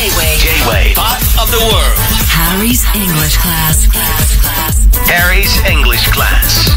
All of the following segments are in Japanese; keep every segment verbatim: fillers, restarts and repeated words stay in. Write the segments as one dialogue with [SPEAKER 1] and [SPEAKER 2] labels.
[SPEAKER 1] J-Wave Pop of the World.
[SPEAKER 2] Harry's English Class.
[SPEAKER 1] Harry's English Class.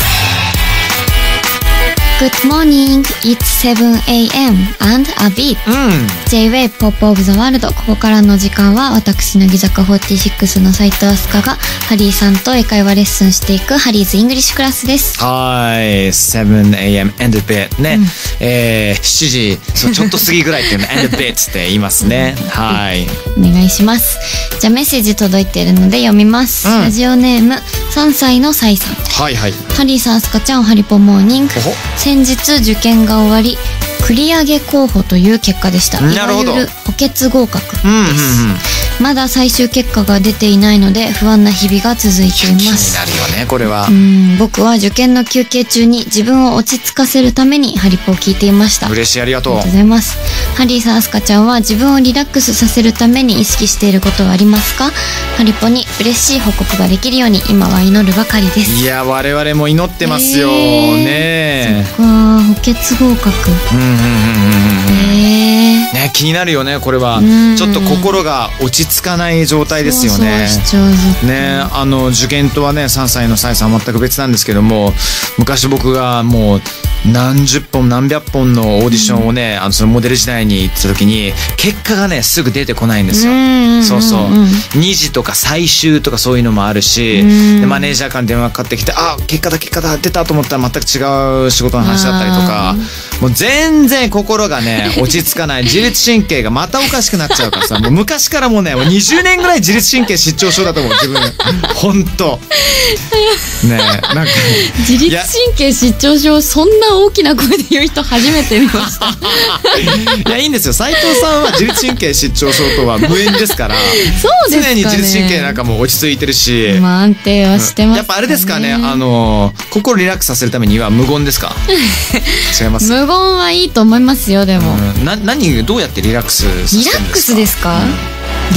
[SPEAKER 3] Good morning, it's seven a.m. and a bit、うん、J-Wave Pop of the World。 ここからの時間は私乃木坂フォーティーシックスの斉藤飛鳥がハリーさんと英会話レッスンしていくハリーズイングリッシュクラスです。
[SPEAKER 4] はい、seven a.m. and a bit ね、うん、えー、しちじそうちょっと過ぎぐらいっていうのand a bit って言いますね。はい、
[SPEAKER 3] お願いします。じゃあメッセージ届いているので読みます、うん、ラジオネームさんさいのさいさん。
[SPEAKER 4] はいはい。
[SPEAKER 3] ハリーさん、飛鳥ちゃん、ハリポモーニング。先日受験が終わり繰り上げ候補という結果でした。いわゆる補欠合格です、うんうんうん、まだ最終結果が出ていないので不安な日々が続いています。
[SPEAKER 4] 気になるよねこれは。
[SPEAKER 3] うん、僕は受験の休憩中に自分を落ち着かせるためにハリポを聞いていました。
[SPEAKER 4] 嬉しい、ありがとう。
[SPEAKER 3] ありがとうございます。ハリーさん、アスカちゃんは自分をリラックスさせるために意識していることはありますか？ハリポに嬉しい報告ができるように今は祈るばかりです。
[SPEAKER 4] いや我々も祈ってますよ、えー、ね。
[SPEAKER 3] そっか、補欠合格。うんうんうんうん、えー、
[SPEAKER 4] ね、気になるよねこれは。ちょっと心が落ち着かない状態ですよね。
[SPEAKER 3] そうそうしちゃうずっと
[SPEAKER 4] ね、あの受験とはねさんさいのさいさんは全く別なんですけども、昔僕がもう何十本何百本のオーディションをね、うん、あのそのモデル時代に行った時に結果がねすぐ出てこないんですよ。そうそう、にじとか最終とかそういうのもあるし、でマネージャーから電話かかってきて、あ結果だ結果だ出たと思ったら全く違う仕事の話だったりとか、もう全然心がね落ち着かない。自律神経がまたおかしくなっちゃうからさ、もう昔からもうねもうにじゅうねんぐらい自律神経失調症だと思う自分。ほんとね、なんか
[SPEAKER 3] 自律神経失調症そんな大きな声で言う人初めて見ました。
[SPEAKER 4] いやいいんですよ、斉藤さんは自律神経失調症とは無縁ですから。
[SPEAKER 3] そうですかね、
[SPEAKER 4] 常に自律神経なんかも落ち着いてるし、
[SPEAKER 3] まあ、安定はしてますかね。
[SPEAKER 4] やっぱあれですかね、あの心リラックスさせるためには無言ですか？違います？
[SPEAKER 3] 無言はいいと思いますよ。でも、
[SPEAKER 4] うん、な何どうやってリラックスさせるんですか？
[SPEAKER 3] リラックスですか、うん、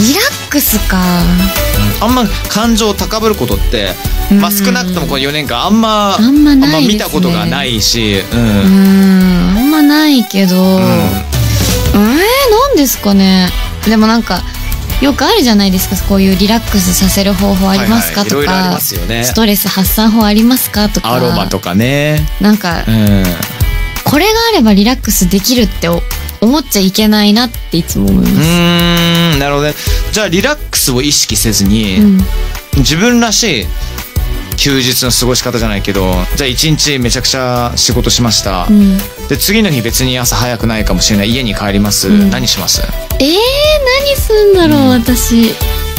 [SPEAKER 3] リラックスか、
[SPEAKER 4] うん、あんま感情高ぶることって、まあ、少なくともこのよねんかんあんま
[SPEAKER 3] あんまないですね。
[SPEAKER 4] あんま見たことがないし、うん、
[SPEAKER 3] うんあんまないけど、うん、えー、なんですかね。でもなんかよくあるじゃないですか、こういうリラックスさせる方法ありますか、はいはい、とか、いろいろありますよね。ストレス発散法ありますかとか、
[SPEAKER 4] アロマとかね、
[SPEAKER 3] なんか、うん、これがあればリラックスできるって思っちゃいけないなっていつも思います。う
[SPEAKER 4] ーん、なるほどね。じゃあリラックスを意識せずに、うん、自分らしい休日の過ごし方じゃないけど、じゃあ一日めちゃくちゃ仕事しました、うん、で次の日別に朝早くないかもしれない、家に帰ります、うん、何します？
[SPEAKER 3] えー、何すんだろう、うん、私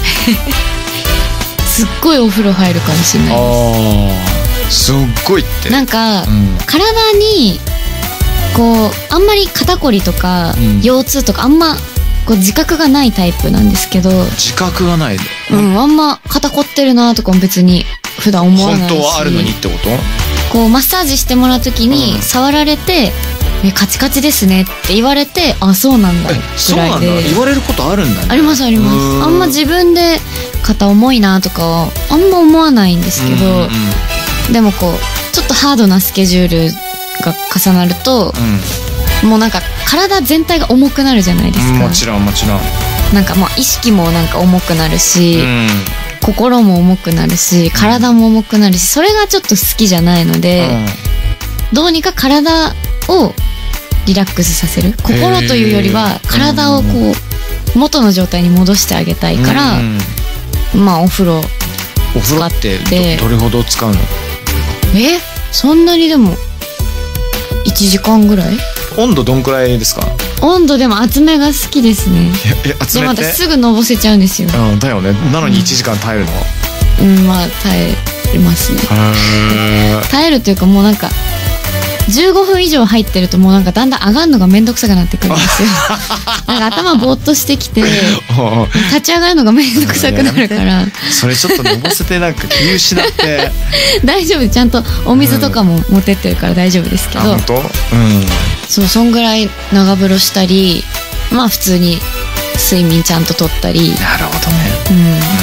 [SPEAKER 3] すっごいお風呂入るかもしれないです。
[SPEAKER 4] あ、すっごいって
[SPEAKER 3] なんか、うん、体にこうあんまり肩こりとか、うん、腰痛とかあんまこう自覚がないタイプなんですけど。
[SPEAKER 4] 自覚がない、
[SPEAKER 3] うん、あんま肩こってるなとかも別に普段思わないし。
[SPEAKER 4] 本当はあるのにってこと？
[SPEAKER 3] こうマッサージしてもらうときに触られて、うん、えカチカチですねって言われて、あそうなんだぐらいで。
[SPEAKER 4] そうなんだ、言われることあるんだね。
[SPEAKER 3] ありますあります。あんま自分で肩重いなとかはあんま思わないんですけど、うんうん、でもこうちょっとハードなスケジュールが重なると、うん、もうなんか体全体が重くなるじゃないですか、うん、
[SPEAKER 4] もちろんもちろん。
[SPEAKER 3] なんかまあ意識もなんか重くなるし、うん、心も重くなるし体も重くなるし、それがちょっと好きじゃないので、うん、どうにか体をリラックスさせる、心というよりは体をこう元の状態に戻してあげたいから、うん、まあお風呂
[SPEAKER 4] お風呂ってど、どれほど使うの？
[SPEAKER 3] えそんなにでもいちじかんぐらい。
[SPEAKER 4] 温度どんくらいですか？
[SPEAKER 3] 温度でも厚めが好きですね。
[SPEAKER 4] え厚めって？
[SPEAKER 3] でまたすぐのぼせちゃうんですよ。
[SPEAKER 4] うん、だよね。なのにいちじかん耐えるの？
[SPEAKER 3] うん、まあ耐えますね。耐えるというかもうなんかじゅうごふん以上入ってるともうなんかだんだん上がるのがめんどくさくなってくるんですよ。なんか頭ぼーっとしてきて立ち上がるのがめんどくさくなるから。
[SPEAKER 4] それちょっとのぼせてなんか気失って
[SPEAKER 3] 大丈夫、ちゃんとお水とかも持ってってるから大丈夫ですけど、うん、
[SPEAKER 4] 本当？うん、
[SPEAKER 3] そう、そんぐらい長風呂したり、まあ普通に睡眠ちゃんととったり。
[SPEAKER 4] なるほどね、
[SPEAKER 3] うん、うん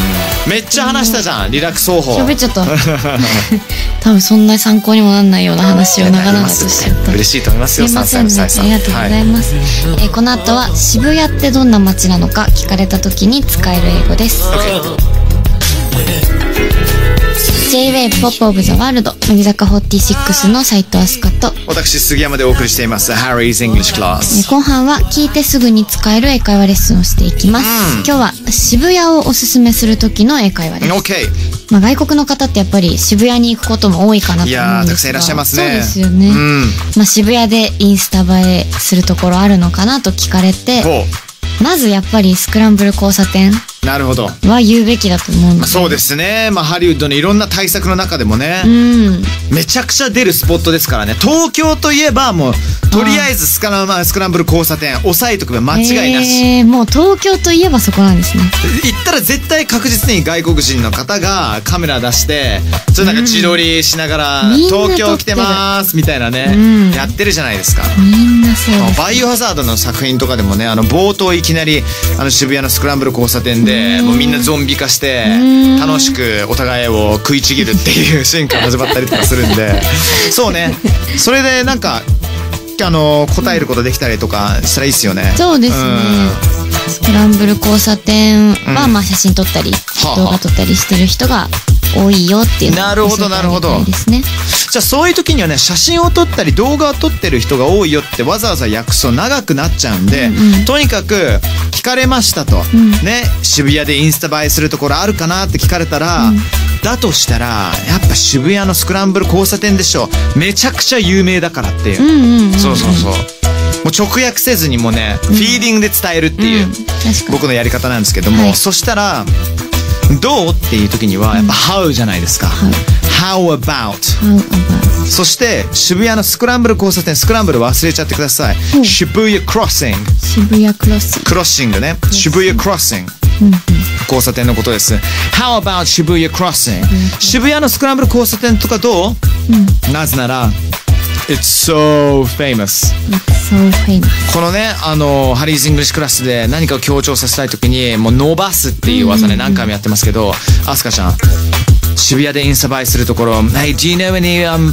[SPEAKER 4] めっちゃ話したじゃん、リラックス方法。
[SPEAKER 3] 喋っちゃった多分そんな参考にもなんないような話を長々としちゃった。
[SPEAKER 4] 嬉しいと思いますよ。
[SPEAKER 3] すいませんね、
[SPEAKER 4] さんさいのさえさん、
[SPEAKER 3] ありがとうございます、はい。えー、この後は渋谷ってどんな街なのか聞かれた時に使える英語です。J-ウェイブ ポップオブザワールド、乃木坂フォーティーシックスの斉藤飛鳥と
[SPEAKER 4] 私杉山でお送りしています Harry's English Class。
[SPEAKER 3] 後半は聞いてすぐに使える英会話レッスンをしていきます、うん、今日は渋谷をおすすめする時の英会話です。
[SPEAKER 4] OK。
[SPEAKER 3] まあ、外国の方ってやっぱり渋谷に行くことも多いかなと思うんですが、
[SPEAKER 4] いやーたくさんいらっしゃいますね。
[SPEAKER 3] そうですよね、うん、まあ、渋谷でインスタ映えするところあるのかなと聞かれて、まずやっぱりスクランブル交差点
[SPEAKER 4] なるほど
[SPEAKER 3] は言うべきだと思うので。
[SPEAKER 4] そうですね、まあ、ハリウッドのいろんな対策の中でもね、
[SPEAKER 3] うん、
[SPEAKER 4] めちゃくちゃ出るスポットですからね。東京といえばもうとりあえずスカラ、まあ、スクランブル交差点押さえとくば間違いなし、
[SPEAKER 3] えー、もう東京といえばそこなんですね。
[SPEAKER 4] 行ったら絶対確実に外国人の方がカメラ出してそれなんか自撮りしながら、うん、東京来てますみたいなね、うん、やってるじゃないですか。
[SPEAKER 3] みんなそうです。
[SPEAKER 4] バイオハザードの作品とかでもね、あの冒頭いきなりあの渋谷のスクランブル交差点でもうみんなゾンビ化して楽しくお互いを食いちぎるっていうシーンから始まったりとかするんでそうね、それでなんかあの答えることできたりとかしたらいいですよね。
[SPEAKER 3] そうですね、うん、スクランブル交差点はまあ写真撮ったり、うん、動画撮ったりしてる人が多いよっていうのを教えてあげたいですね。
[SPEAKER 4] じゃあそういう時にはね、写真を撮ったり動画を撮ってる人が多いよってわざわざ訳すと長くなっちゃうんで、うんうん、とにかく聞かれましたと、うん、ね、渋谷でインスタ映えするところあるかなって聞かれたら、うん、だとしたらやっぱ渋谷のスクランブル交差点でしょ、めちゃくちゃ有名だからっていう、うんうんうんうん、そうそうそう、もう直訳せずにもね、うん、フィーリングで伝えるっていう、うん、僕のやり方なんですけども、はい、そしたらどうっていう時にはやっぱ How じゃないですか、うん、How about, How about そして渋谷のスクランブル交差点、スクランブル忘れちゃってください、うん、渋谷クロッシング、
[SPEAKER 3] 渋谷クロッシング、
[SPEAKER 4] クロッシングね、渋谷クロッシング、うんうん、交差点のことです。 How about 渋谷クロッシング、渋谷のスクランブル交差点とかどう、うん、なぜならIt's so famous.
[SPEAKER 3] It's so famous.
[SPEAKER 4] このね、あのハリーズ・イングリッシュクラスで何かを強調させたいときにもう伸ばすっていう技ね、何回もやってますけど、アスカちゃん渋谷でインスタ映えするところ、 Hey, do you know any、um,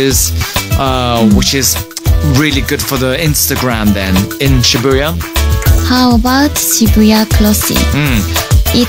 [SPEAKER 4] places、uh, which is really good for the Instagram then in Shibuya?
[SPEAKER 3] How about Shibuya Crossing? うん、It's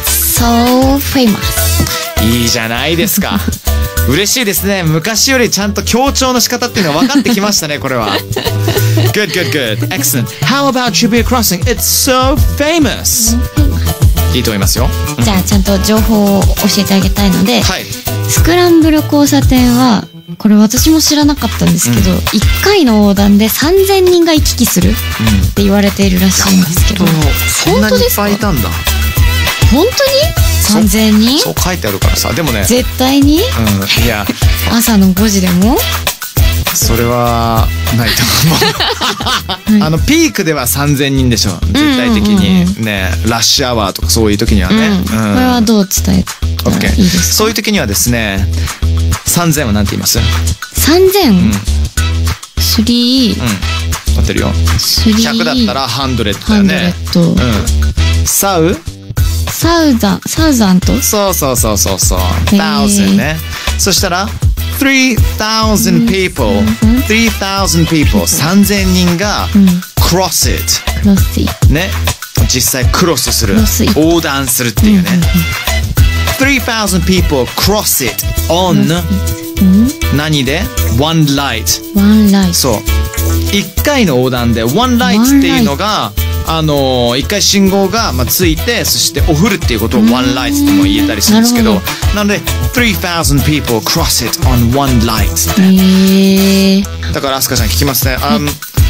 [SPEAKER 3] so famous.
[SPEAKER 4] いいじゃないですか嬉しいですね。昔よりちゃんと強調の仕方っていうのが分かってきましたね、これは。Good, good, good. Excellent. How about Shibuya Crossing? It's so famous. いいと思いますよ。
[SPEAKER 3] じゃあちゃんと情報を教えてあげたいので、
[SPEAKER 4] はい、
[SPEAKER 3] スクランブル交差点はこれ私も知らなかったんですけど、うん、いっかいの横断でさんぜんにんが行き来するって言われているらしいんですけど、
[SPEAKER 4] そんなにいっぱいいたんだ。
[SPEAKER 3] 本当にさんぜんにん？
[SPEAKER 4] そう書いてあるからさ。でもね、
[SPEAKER 3] 絶対に、
[SPEAKER 4] うん、いや
[SPEAKER 3] 朝のごじでも
[SPEAKER 4] それはないと思う、はい、あのピークではさんぜんにんでしょ絶対的に、うんうんうん、ね、ラッシュアワーとかそういう時にはね、うんうん、こ
[SPEAKER 3] れはどう伝えたらいいですか？
[SPEAKER 4] そういう時にはですね、さんぜんは何て言います？
[SPEAKER 3] さんぜん、うん、スリー、
[SPEAKER 4] うん、合ってるよ。ひゃくだったらハンドレットだよね。
[SPEAKER 3] うん、
[SPEAKER 4] サウ
[SPEAKER 3] サウザンサウザント、
[SPEAKER 4] そうそうそうそうそう、thousand ね。そしたらthree thousand people, three thousand people、さんぜんにんが cross it、ね、実際クロスする、横断するっていうね。three thousand people cross it on 何で one light、
[SPEAKER 3] one light、
[SPEAKER 4] そういっかいの横断で one light っていうのがあのいっかい信号がまあついて、そしてお降るっていうことを one light とも言えたりするんですけど、なので three thousand people cross it on one light、
[SPEAKER 3] えー、
[SPEAKER 4] だからアスカちゃん聞きますね、um,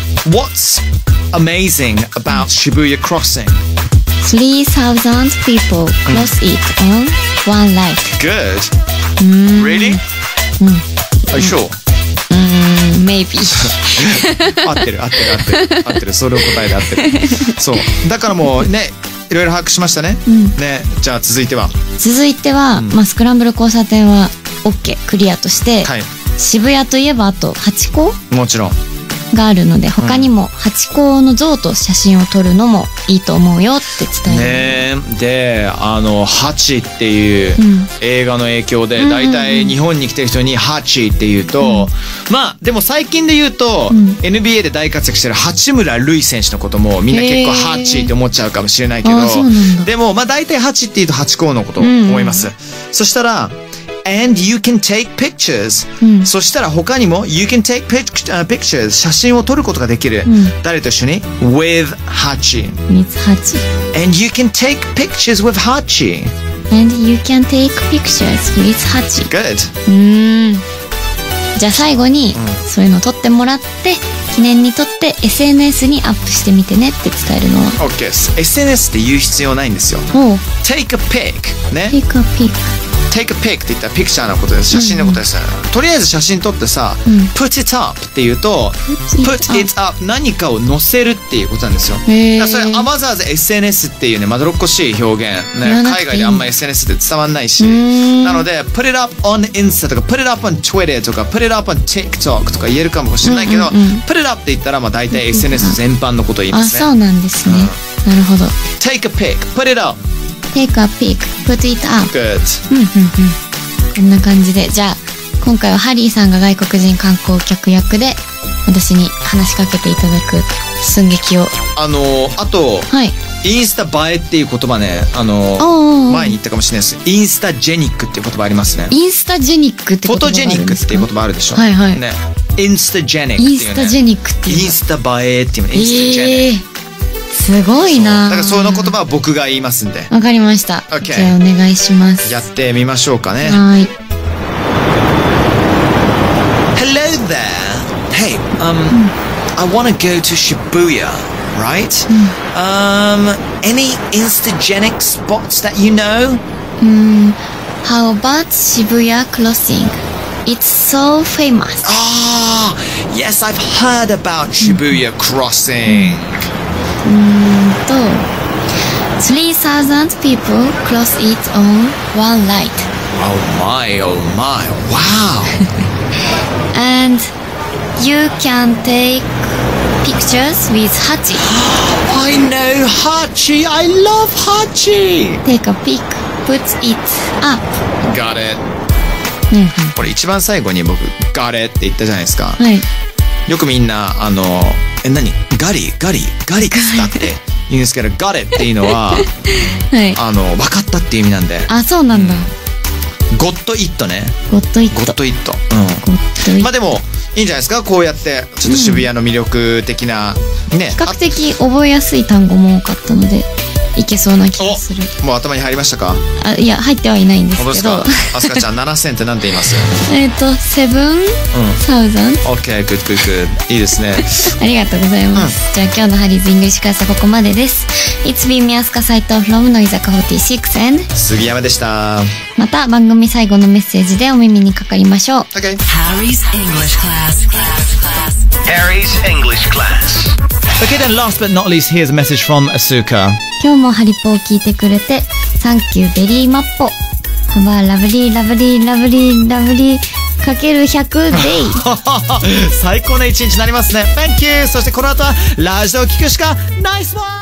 [SPEAKER 4] What's amazing about Shibuya crossing?
[SPEAKER 3] three thousand people cross it on one light.
[SPEAKER 4] Good. Really?
[SPEAKER 3] うん、
[SPEAKER 4] Are you sure?
[SPEAKER 3] うん、maybe
[SPEAKER 4] 合ってる合ってる合ってる合ってる、それを答えで合ってるそうだからもうね、いろいろ把握しましたね、うん、ね。じゃあ続いては
[SPEAKER 3] 続いては、うん、まあ、スクランブル交差点は OK クリアとして、はい、渋谷といえばあとハチ公、
[SPEAKER 4] もちろん
[SPEAKER 3] があるので、他にもハチ公の像と写真を撮るのもいいと思うよって伝える。
[SPEAKER 4] ねえ。で、あの、ハチっていう
[SPEAKER 3] うん
[SPEAKER 4] 映画の影響で、
[SPEAKER 3] うんうんうん
[SPEAKER 4] 大体日本に来てる人にハチって言うと、まあ、でも最近で言うと、
[SPEAKER 3] うん
[SPEAKER 4] エヌビーエー で大活躍してる八村塁選手のこともみんな結構
[SPEAKER 3] へー
[SPEAKER 4] ハチって思っちゃうかもしれないけど、
[SPEAKER 3] あーそうなんだ
[SPEAKER 4] でも、まあ大体ハチって言うとハチ公のことを思います。そしたら、and you can take pictures、
[SPEAKER 3] うん
[SPEAKER 4] そしたら他にも you can take pic- uh, pictures 写真を撮ることができる、
[SPEAKER 3] うん
[SPEAKER 4] 誰と一緒に with ハチ
[SPEAKER 3] 三つハチ。
[SPEAKER 4] and you can take pictures with ハチ
[SPEAKER 3] And you can take pictures with ハチ。
[SPEAKER 4] good
[SPEAKER 3] うーん。じゃあ最後に、そういうの撮ってもらって、記念に撮って エスエヌエス にアップしてみてねって伝えるのは。
[SPEAKER 4] OK です。 エスエヌエス って言う必要ないんですよ。
[SPEAKER 3] おう。
[SPEAKER 4] take a pic ね
[SPEAKER 3] take a pic。
[SPEAKER 4] take a pic って言ったらピクチャーのことです。写真のことです、とりあえず写真撮ってさ、
[SPEAKER 3] うん
[SPEAKER 4] put it up って言うと
[SPEAKER 3] Put it
[SPEAKER 4] put it up 何かを載せるっていうことなんですよ。
[SPEAKER 3] へー
[SPEAKER 4] だからそれわざわざ エスエヌエス っていうねまどろっこしい表現、ね、
[SPEAKER 3] 言わなくていい
[SPEAKER 4] 海外であんま エスエヌエス って伝わんないし、
[SPEAKER 3] うーん
[SPEAKER 4] なので put it up on Insta とか put it up on Twitter とか put it up on TikTok とか言えるかもしれないけど、
[SPEAKER 3] うんうんうん
[SPEAKER 4] put it up って言ったらまあ大体 エスエヌエス 全般のことを言いま
[SPEAKER 3] あ、
[SPEAKER 4] すね。
[SPEAKER 3] そうなんですね。なるほど。
[SPEAKER 4] take a pic put it up
[SPEAKER 3] take a pic, put it up。
[SPEAKER 4] good
[SPEAKER 3] うんうんうん。こんな感じで、じゃあ今回はハリーさんが外国人観光客役で私に話しかけていただく寸劇を。
[SPEAKER 4] あのあと
[SPEAKER 3] はい。
[SPEAKER 4] インスタ映えっていう言葉ね、あの
[SPEAKER 3] おうおうおう
[SPEAKER 4] 前に言ったかもしれないです。インスタジェニックっていう言葉ありますね。
[SPEAKER 3] インスタジェニックって
[SPEAKER 4] フォト
[SPEAKER 3] 言葉があるんですか？
[SPEAKER 4] ジェニックっていう言葉あるでしょ。
[SPEAKER 3] はいはい
[SPEAKER 4] ね。インスタジェニックっていうね。
[SPEAKER 3] インスタジェニックっていうの
[SPEAKER 4] インスタ映えっていうね。インスタジェニック。
[SPEAKER 3] ええー、すごいな。
[SPEAKER 4] だからその言葉は僕が言いますんで。
[SPEAKER 3] わかりました。
[SPEAKER 4] OK
[SPEAKER 3] じゃあお願いします。
[SPEAKER 4] やってみましょうかね。
[SPEAKER 3] はい。
[SPEAKER 4] Hello there. Hey, um, I want to go to Shibuya, right? Um, any Instagenic spots that you know?
[SPEAKER 3] How about Shibuya Crossing? It's so famous.
[SPEAKER 4] Ah, yes, I've heard about Shibuya Crossing.
[SPEAKER 3] と three thousand people cross it on one ride.
[SPEAKER 4] Oh my, oh my, wow.
[SPEAKER 3] And you can take pictures with Hachi.
[SPEAKER 4] I know Hachi. I love Hachi.
[SPEAKER 3] Take a pic, put it up.
[SPEAKER 4] Got it.
[SPEAKER 3] うんうん。
[SPEAKER 4] これ一番最後に僕 Got it って言ったじゃないですか。
[SPEAKER 3] はい。
[SPEAKER 4] よくみんなあのえ何ガリガリガリックスだって言うんですけど Got it っていうのは
[SPEAKER 3] はい。
[SPEAKER 4] あの分かったっていう意味なんで
[SPEAKER 3] あ、そうなんだ。
[SPEAKER 4] ゴッドイットね。
[SPEAKER 3] ゴッドイット。
[SPEAKER 4] ゴッドイット。
[SPEAKER 3] ゴッドイット。
[SPEAKER 4] うん。まあでもいいんじゃないですか。こうやってちょっと渋谷の魅力的なね。
[SPEAKER 3] 比較的覚えやすい単語も多かったのでいけそうな気がする。
[SPEAKER 4] おもう頭に入りましたか。
[SPEAKER 3] あ、いや入ってはいないんです
[SPEAKER 4] 本当です
[SPEAKER 3] けど
[SPEAKER 4] か。アスカちゃんななせんってなんて言います？
[SPEAKER 3] えっとセブンサウザン。
[SPEAKER 4] OK, good, good, good. いいですね。
[SPEAKER 3] ありがとうございます、じゃあ今日のハリーズイングリッシュクラスはここまでです。 It's been me アスカ斉藤 from 乃木坂フォーティーシックス and
[SPEAKER 4] 杉山でした。
[SPEAKER 3] また番組最後のメッセージでお耳にかかりましょう。
[SPEAKER 4] OK.
[SPEAKER 2] Harry's English class.
[SPEAKER 1] Harry's English class.
[SPEAKER 4] Okay, then last but not least, here's a message from Asuka.
[SPEAKER 3] 今日もハリポを聞いてくれてサンキューベリーマッポ。ハバーラブリーラブリーラブリーラブリーかけるひゃくデイ。
[SPEAKER 4] 最高な一日になりますね。Thank you. そしてこの後はラジオを聞くしかナイスワン。